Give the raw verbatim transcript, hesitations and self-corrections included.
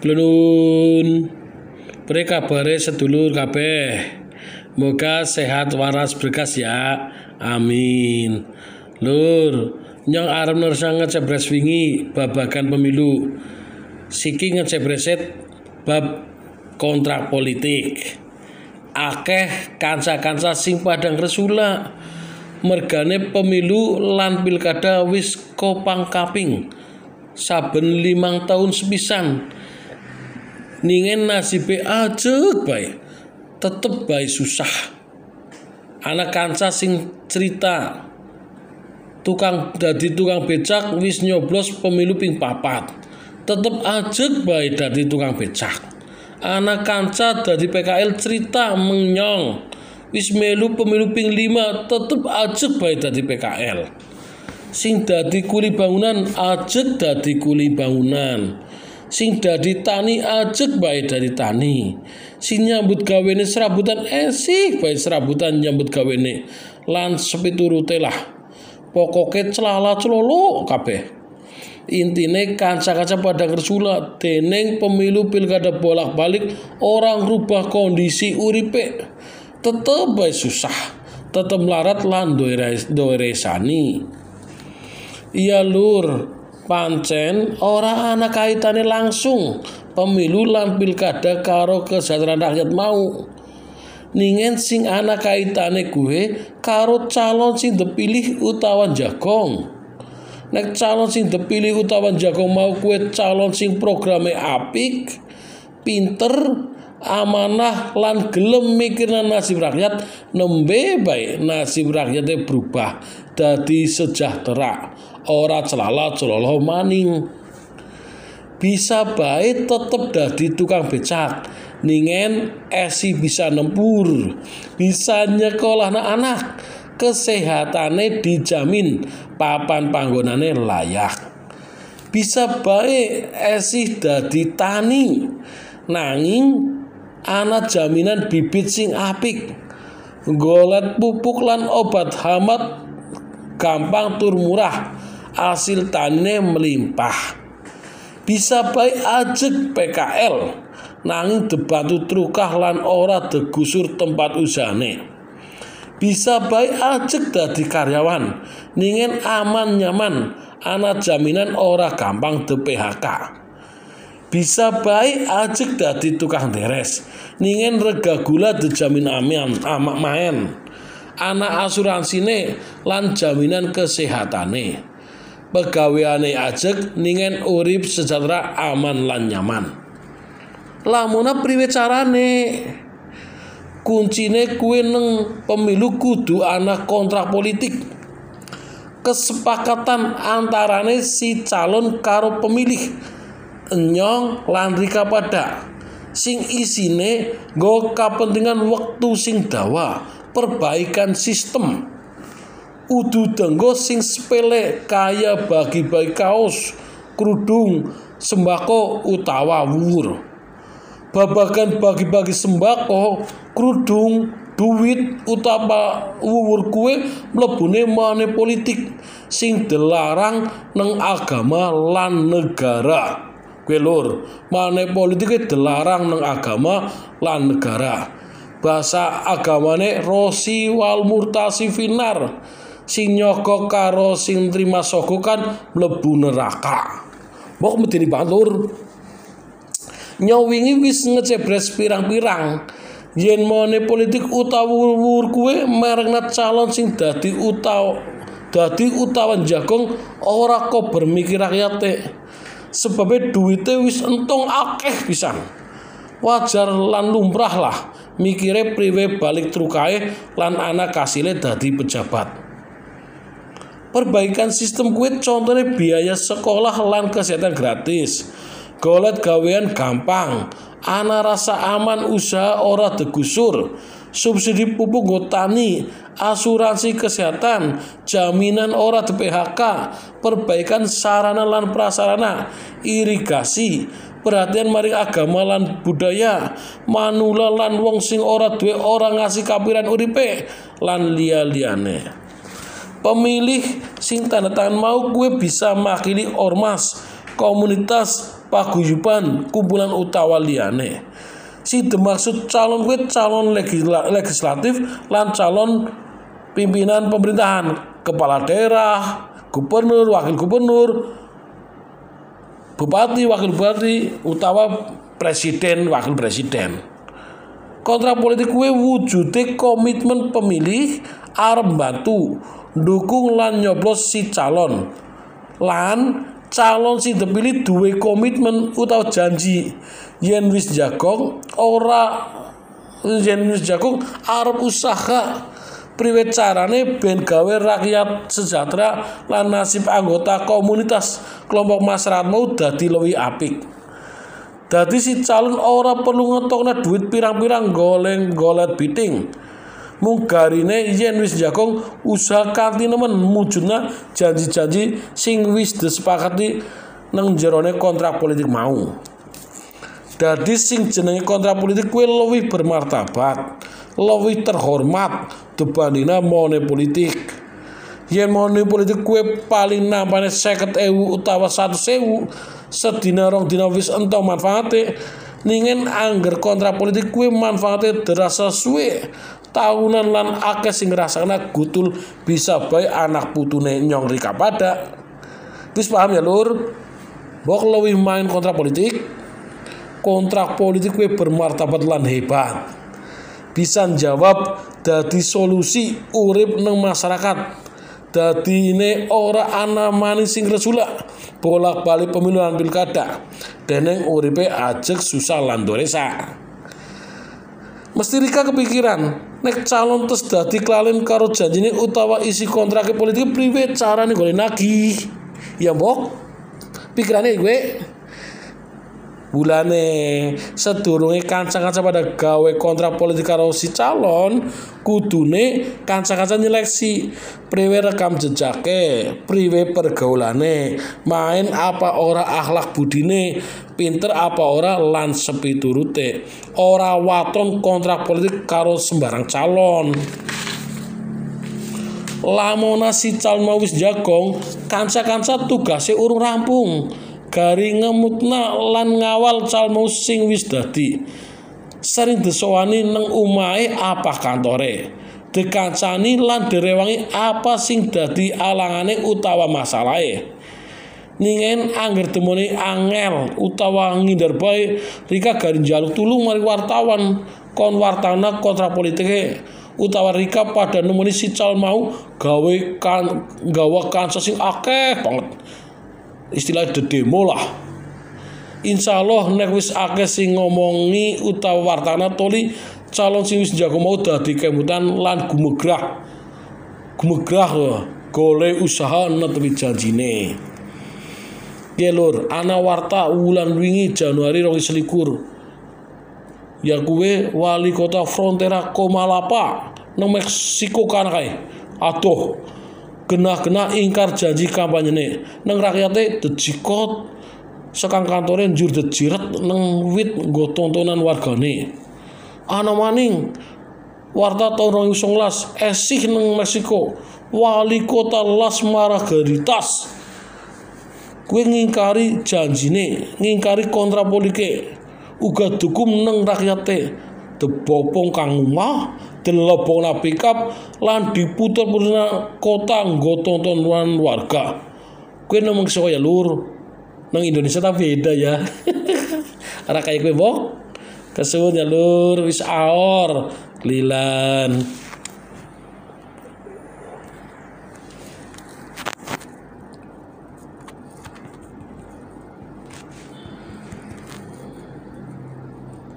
Glunun. Pre kabare sedulur kabeh. Moga sehat waras berkas ya. Amin. Lur, nyong arep nersa ngecebres wingi babagan pemilu. Siki ngecebreset bab kontrak politik. Akeh kanca-kanca sing padang resula. Mergane pemilu lan pilkada wis kopang kaping. Saben limang tahun sepisan. Ningen nasibe ajeg bae. Tetep bae susah. Anak kanca sing cerita tukang dadi tukang becak wis nyoblos pemilu ping papat. Tetep ajeg bae dadi tukang becak. Anak kanca dadi P K L cerita menyong wis melu pemilu ping lima tetep ajeg bae dadi P K L. Sing dadi kuli bangunan ajeg dadi kuli bangunan. Sing dadi tani ajeg bae dadi tani. Sing nyambut gawene serabutan esih bae serabutan nyambut gawene. Lan sepiturute lah. Pokoke celala celolo kabeh. Intine kanca-kanca padang resula dening pemilu pilkada bolak-balik orang rubah kondisi uripe. Tetep bae susah. Tetep melarat lan doe resani. Iya lur, pancen ora ana kaitane langsung pemilu lan pilkada karo kesejahteraan rakyat mau. Ningen sing ana kaitane kuwe karo calon sing dipilih utawa jagong. Nek calon sing dipilih utawa jagong mau kuwe calon sing programe apik, pinter, amanah lan gelem mikirna nasib rakyat, nembe bae nasib rakyate berubah dadi sejahtera. Ora celala celolo maning. Bisa bae tetep dadi tukang becak. Ningen esi bisa nempur. Bisa nyekolah anak. Kesehatane dijamin. Papan panggonane layak. Bisa bae esi dadi tani. Nanging ana jaminan bibit sing apik. Golet pupuk lan obat hama gampang tur murah. Hasil tanine melimpah. Bisa bae ajeg P K L nanging debatu trukah lan ora degusur tempat usahane. Bisa bae ajeg dadi karyawan ningen aman nyaman ana jaminan ora gampang de P H K. Bisa bae ajeg dadi tukang deres ningen rega gula dijamin aman amak maen. Ana asuransine lan jaminan kesehatane. Pegaweane ajeg ningen urip sejahtera aman lan nyaman. Lamuna priwe carane? Kuncine kuwi neng pemilu kudu ana kontrak politik. Kesepakatan antarane si calon karo pemilih. Enyong lan rika pada. Sing isine nggo kapentingan wektu sing dawa, perbaikan sistem. Udu denggo sing sepele kaya bagi-bagi kaos, kerudung, sembako utawa wuwur. Babagan bagi-bagi sembako, kerudung, duit utawa wuwur kuwe mlebune mane politik sing dilarang neng agama lan negara. Kuwi lur, mane politike dilarang neng agama lan negara. Bahasa agamane rosi wal murtasi finar. Sing nyogok karo sing trima sogok kan mlebu neraka. Mbok medeni batur. Nyowingi wis ngecebres pirang-pirang. Yen mone politik utawa wuwur kuwe merengna calon sing dadi utawa dadi utawa jagong ora kok bermikir rakyate. Sebabe duwite wis entong akeh pisan. Wajar lan lumrah lah mikire priwe balik trukae lan anak kasile dadi pejabat. Perbaikan sistem kuwi contohnya biaya sekolah lan kesehatan gratis. Golet gawean gampang. Ana rasa aman usaha ora degusur. Subsidi pupuk nggo tani, asuransi kesehatan, jaminan ora di P H K, perbaikan sarana lan prasarana, irigasi, perhatian maring agama lan budaya, manula lan wong sing ora duwe ora ngasih kapiran uripe lan liya-liyane. Pemilih sing tanda tangan mau gue bisa makili ormas, komunitas paguyuban, kumpulan utawa liyane. Sing dimaksud calon kuwi calon legisla, legislatif lan calon pimpinan pemerintahan, kepala daerah, gubernur, wakil gubernur, bupati, wakil bupati, utawa presiden, wakil presiden. Kontrak politik kuwi wujude komitmen pemilih arep bantu ndukung lan nyoblos si calon. Lan calon sing dipilih duwe komitmen utawa janji yen wis jagong ora yen wis jagong arep usaha priwe carane ben gawe rakyat sejahtera lan nasib anggota komunitas kelompok masyarakat mau dadi luwih apik. Dadi si calon ora perlu ngetokna duit pirang-pirang goleng-golet biting. Mung garine yen wis jagong usaha kanthi nemen mujudna janji-janji sing wis disepakati nang jerone kontrak politik mau. Dadi sing jenenge kontrak politik kuwi luwih bermartabat, luwih terhormat dibandingna money politik. Yen money politik kuwi paling nampane seket ewu utawa seratus ewu sedina rong dina wis entuk manfaate, ningen angger kontrak politik kuwi manfaate derasa suwe tahunan lan akeh sing ngrasakna gutul bisa bae anak putune nyong rika pada. Wis paham ya lur? Mbok luwih main kontrak politik. Kontrak politik kuwi bermartabat lan hebat. Bisa jawab dadi solusi urip nang masyarakat. Dadine ora ana manis sing resula bolak-balik pemilu lan pilkada. Deneng uripe ajeg susah lan doresa. Mesti Rika kepikiran nek calon tes dadi klalen karo janjine utawa isi kontrak politik priwe carane golek nagih. Ya mbok pikirane gue bulane sedurunge kanca-kanca pada gawe kontrak politik karo si calon kudune kanca-kanca nyeleksi priwe rekam jejake, priwe pergaulane, main apa ora akhlak budine, pinter apa ora lan sepiturute. Ora waton kontrak politik karo sembarang calon. Lamona si calon mau wis jagong, kanca-kanca tugase urung rampung. Gari ngemutna lan ngawal calon mau sing wis dadi. Sering disowani nang omahe apa kantore. Dikancani lan direwangi apa sing dadi alangane utawa masalahe. Ningen angger temoni angel utawa ngindar bae Rika gari njaluk tulung mari wartawan kon wartana kontrak politike utawa Rika pada nemoni si calon mau gawe kan gawa kanca sing akeh banget. Istilah de demo lah. Insya Allah nek wis akeh sing ngomongi utawa wartana toli calon sing wis jago mau dadi kemutan lan gumegrah gumegrah golek usaha netepi janjine. Ya lur, ana warta wulan wingi Januari rong ewu selikur. Ya kuwe wali kota Frontera Comalapa nang Meksiko kana kae. Aduh, genah-genah ingkar janji kampanyene nang rakyate dejikot sekang kantore njur dejiret nang wit nggo tontonan wargane. Ana maning warta taun rong ewu songolas esih nang Meksiko wali kota Las Margaritas kuwi ngingkari janjine, ngingkari kontrak politike, uga dukum nang rakyate debopong kang omah, dilebokna pikap lan diputer-puterna kota nggo tontonan warga. Kuwi nang Meksiko ya lur. Nang Indonesia tapi beda ya. Ora kaya kowe mbok. Kesuwun ya lur, wis aor lilan.